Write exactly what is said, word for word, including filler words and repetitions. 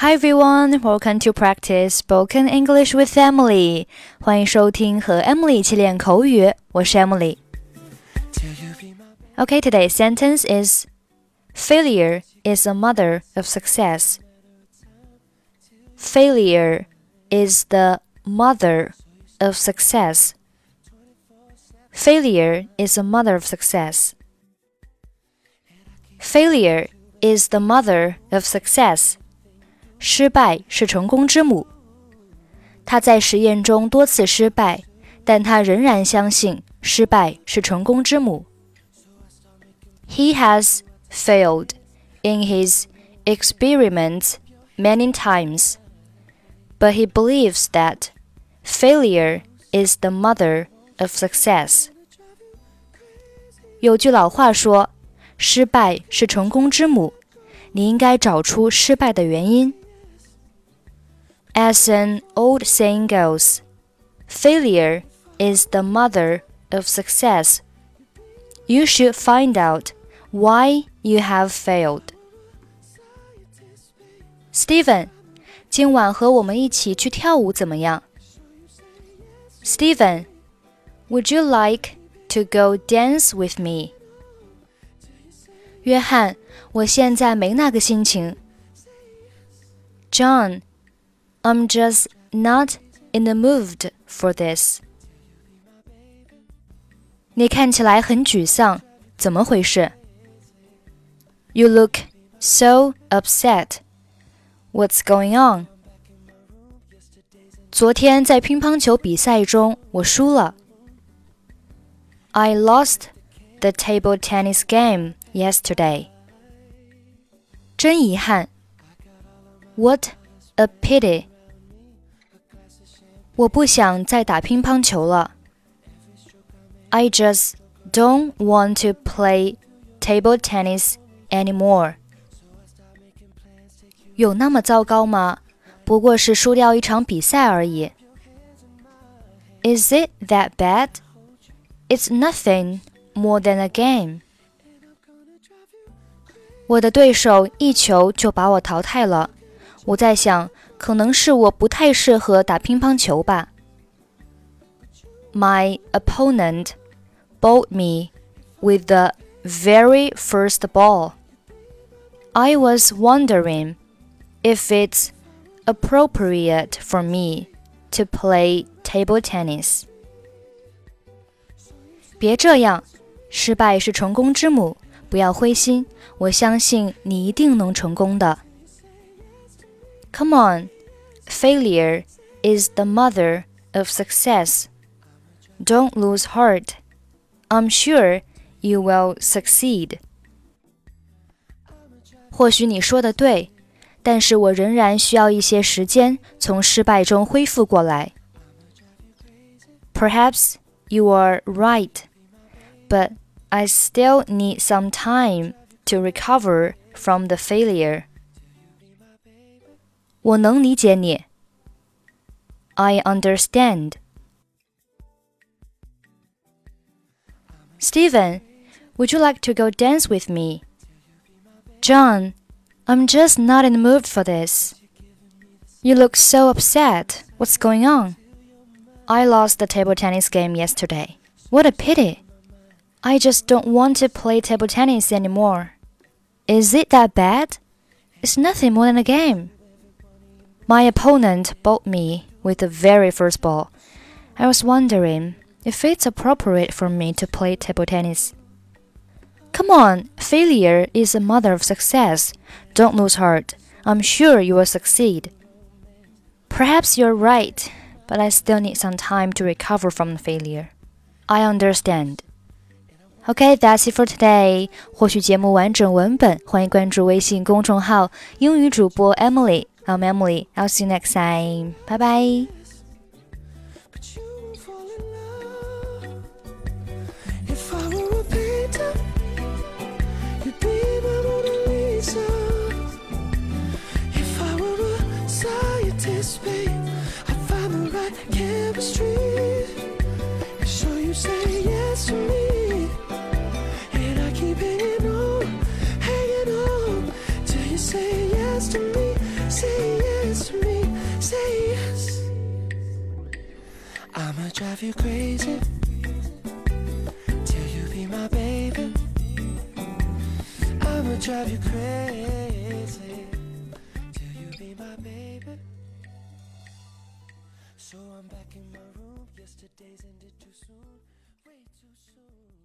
Hi everyone, welcome to practice spoken English with Emily. 欢迎收听和 Emily 一起练口语，我是 Emily. Okay, today's sentence is Failure is the mother of success. Failure is the mother of success. Failure is the mother of success. Failure is the mother of success. 失败是成功之母。他在实验中多次失败，但他仍然相信失败是成功之母。He has failed in his experiments many times, but he believes that failure is the mother of success. 有句老话说，失败是成功之母，你应该找出失败的原因。As an old saying goes, failure is the mother of success. You should find out why you have failed. Steven, 今晚和我们一起去跳舞怎么样？ Steven, would you like to go dance with me? 约翰，我现在没那个心情。John, I'm just not in the mood for this. 你看起来很沮丧，怎么回事？ You look so upset. What's going on? 昨天在乒乓球比赛中，我输了。I lost the table tennis game yesterday. 真遗憾。What a pity. 我不想再打乒乓球了。I just don't want to play table tennis anymore. 有那么糟糕吗？不过是输掉一场比赛而已。Is it that bad? It's nothing more than a game. 我的对手一球就把我淘汰了。我在想，可能是我不太适合打乒乓球吧。My opponent bowled me with the very first ball. I was wondering if it's appropriate for me to play table tennis. 别这样，失败是成功之母，不要灰心，我相信你一定能成功的。Come on, failure is the mother of success. Don't lose heart. I'm sure you will succeed. 或许你说的对，但是我仍然需要一些时间从失败中恢复过来。Perhaps you are right, but I still need some time to recover from the failure. 我能理解你。I understand. Steven, would you like to go dance with me? John, I'm just not in the mood for this. You look so upset. What's going on? I lost the table tennis game yesterday. What a pity. I just don't want to play table tennis anymore. Is it that bad? It's nothing more than a game.My opponent bowled me with the very first ball. I was wondering if it's appropriate for me to play table tennis. Come on, failure is the mother of success. Don't lose heart. I'm sure you will succeed. Perhaps you're right, but I still need some time to recover from the failure. I understand. Okay, that's it for today. 获取节目完整文本，欢迎关注微信公众号英语主播 Emily。I'm Emily. I'll see you next time. Bye bye. If I were a painter, you'd be my Mona Lisa. If I were a scientist, babe, I'd find the right chemistry. So you say yes to me, and I keep hanging on, hanging on, till you say yes to me. Say drive you crazy till you be my baby. I'ma drive you crazy till you be my baby. So I'm back in my room. Yesterday's ended too soon, way too soon.